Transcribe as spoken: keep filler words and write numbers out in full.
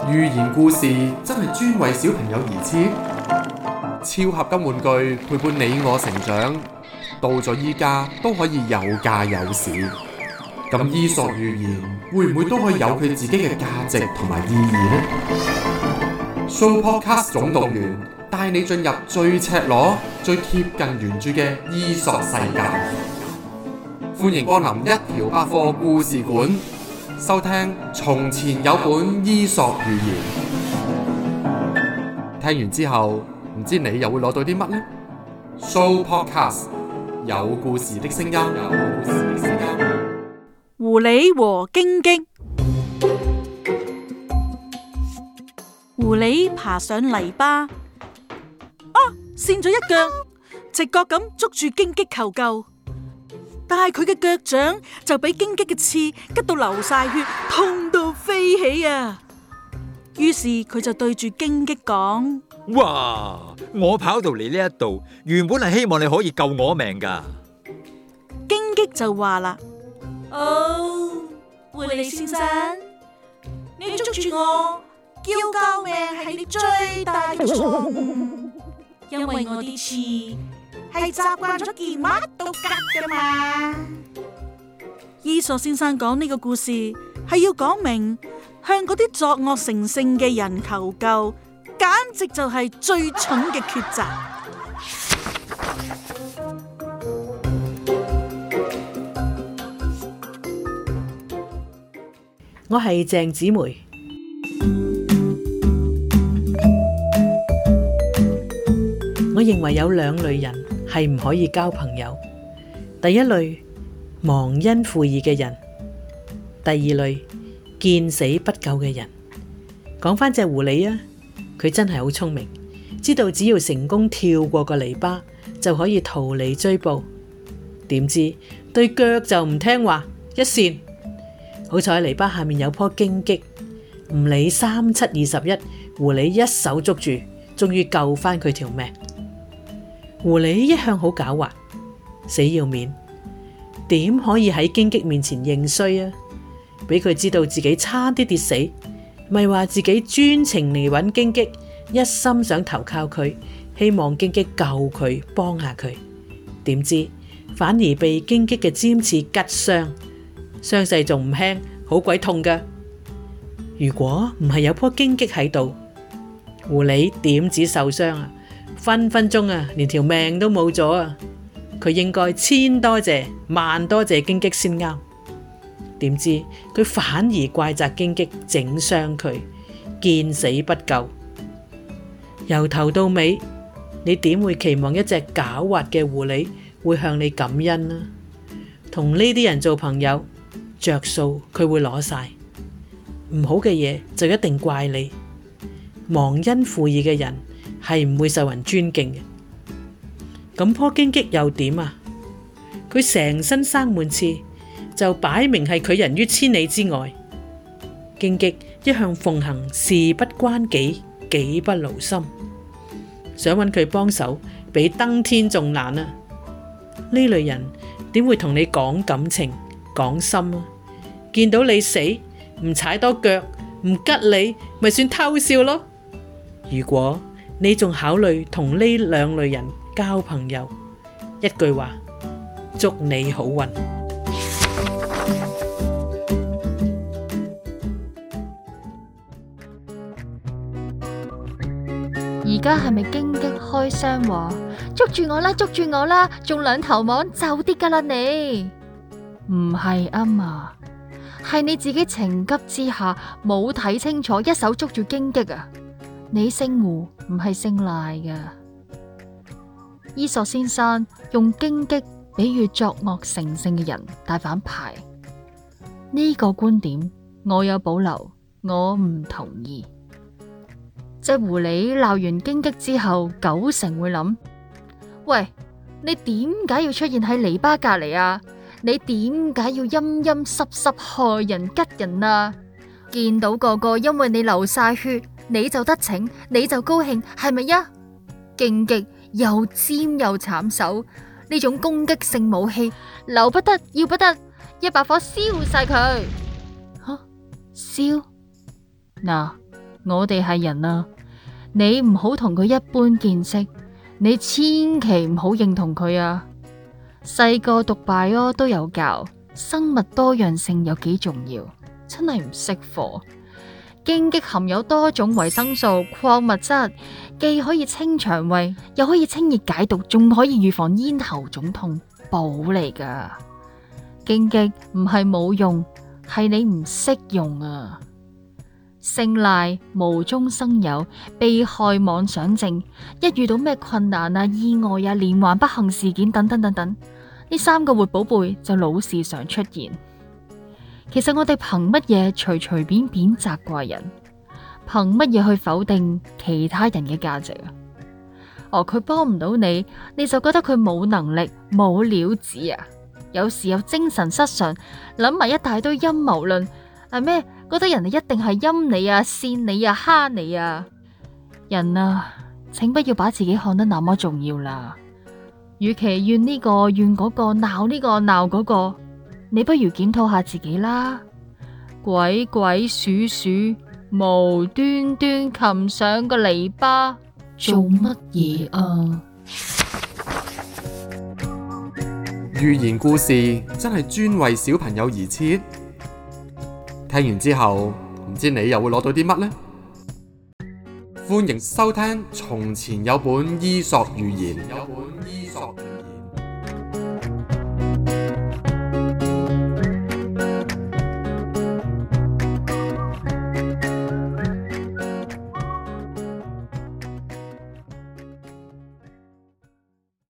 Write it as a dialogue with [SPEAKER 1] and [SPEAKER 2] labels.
[SPEAKER 1] 寓言故事真係專為小朋友而設，超合金玩具陪伴你我成長，到咗依家都可以有價有市。咁伊索寓言會唔會都可以有佢自己嘅價值同埋意義呢？ Sooopodcast 總動員帶你進入最赤裸、最貼近原著嘅伊索世界。歡迎光臨一條百貨故事館，收聽從前有本伊索寓言。聽完之後，唔知你又會攞到啲乜呢？ Sooopodcast 有故事的聲音。有故事的聲音。
[SPEAKER 2] 狐狸和荊棘。狐狸爬上泥巴，啊，跣咗一腳，直覺咁捉住荊棘求救。但係佢嘅腳掌就俾荊棘嘅刺拮到流晒血，痛到飛起啊！於是佢就對住荊棘講：
[SPEAKER 3] 哇！我跑到嚟呢一度，原本係希望你可以救我命噶。
[SPEAKER 2] 荊棘就話啦：哦，狐狸先生，你捉住我，叫救命係你最大嘅錯誤，因為我啲刺係習慣咗見乜都吉噶嘛。伊索先生講呢個故事係要講明，向嗰啲作惡成性嘅人求救，簡直就係最蠢嘅抉擇。
[SPEAKER 4] 我係鄭子梅。我認為有兩類人係唔可以交朋友。第一類，忘恩負義嘅人；第二類，見死不救嘅人。講返隻狐狸啊，佢真係好聰明，知道只要成功跳過個泥巴就可以逃離追捕。點知對腳就唔聽話，一跣。好彩泥巴下面有棵荊棘，唔理三七二十一，狐狸一手捉住，終於救返佢條命。狐狸一向好狡猾，死要面，點可以喺荊棘面前認衰啊？俾佢知道自己差啲跌死，咪話自己專程嚟揾荊棘，一心想投靠佢，希望荊棘救佢，幫下佢。點知反而被荊棘嘅尖刺拮傷，傷勢仲唔輕，好鬼痛噶。如果唔係有棵荊棘喺度，狐狸點止受傷啊？分分鐘啊，連條命都冇咗啊！佢應該千多謝萬多謝荊棘先啱。點知佢反而怪責荊棘整傷佢，見死不救。由頭到尾，你點會期望一隻狡猾嘅狐狸會向你感恩啊？同呢啲人做朋友，着數佢會攞晒，唔好嘅嘢就一定怪你。忘恩負義嘅人係唔會受人尊敬嘅。咁棵荊棘又點啊？佢成身生滿刺，就擺明係拒人於千里之外。荊棘一向奉行事不關己，己不勞心，想揾佢幫手，比登天仲難啊！呢類人點會同你講感情講心啊？見到你死唔踩多腳，唔吉你，咪算偷笑咯。如果你仲考慮同呢兩類人交朋友，一句話，祝你好運。
[SPEAKER 5] 而家係咪荊棘開聲話捉住我啦，捉住我啦，仲兩頭網就啲噶啦你？唔係啊嘛，係你自己情急之下冇睇清楚，一手捉住荊棘啊！你姓胡唔係姓賴噶。伊索先生用荊棘比喻作惡成性嘅人大反派，呢個觀點我有保留，我唔同意。隻狐狸鬧完荊棘之後，九成會諗：喂，你點解要出現喺籬笆隔籬啊？你點解要陰陰濕濕害人吉人啊？見到個個因為你流晒血，你就得逞，你就高興，係咪呀？荊棘又尖又慘手，呢種攻擊性武器留不得，要不得，一把火燒晒佢。吓，燒嗱， 我哋係人啊，你唔好同佢一般見識，你千祈唔好認同佢啊。細個讀 bio 都有教，生物多樣性有幾重要，真係唔識貨。荊棘含有多種維生素、礦物質，既可以清腸胃，又可以清熱解毒，仲可以預防咽喉腫痛，寶嚟噶。荊棘唔係冇用，係你唔識用啊。聖賴無中生有，被害妄想症，一遇到咩困難啊、意外啊、連環不幸事件等等等等，呢三個活寶貝就老是常出現。其實我哋憑乜嘢隨隨便便責怪人？憑乜嘢去否定其他人嘅價值啊？哦，佢幫唔到你，你就覺得佢冇能力、冇料子啊？有時有精神失常，諗埋一大堆陰謀論，係咩？覺得人哋一定係陰你啊、扇你啊、蝦你啊？人啊，請不要把自己看得那麼重要啦。與其怨呢個怨嗰個，鬧呢個鬧嗰個，你不如檢討下自己啦。鬼鬼祟祟，無端端擒上個籬笆，做乜嘢啊？
[SPEAKER 1] 寓言故事真係專為小朋友而設，聽完之後唔知你又會攞到啲乜呢？歡迎收聽《從前有本伊索寓言》。有本伊索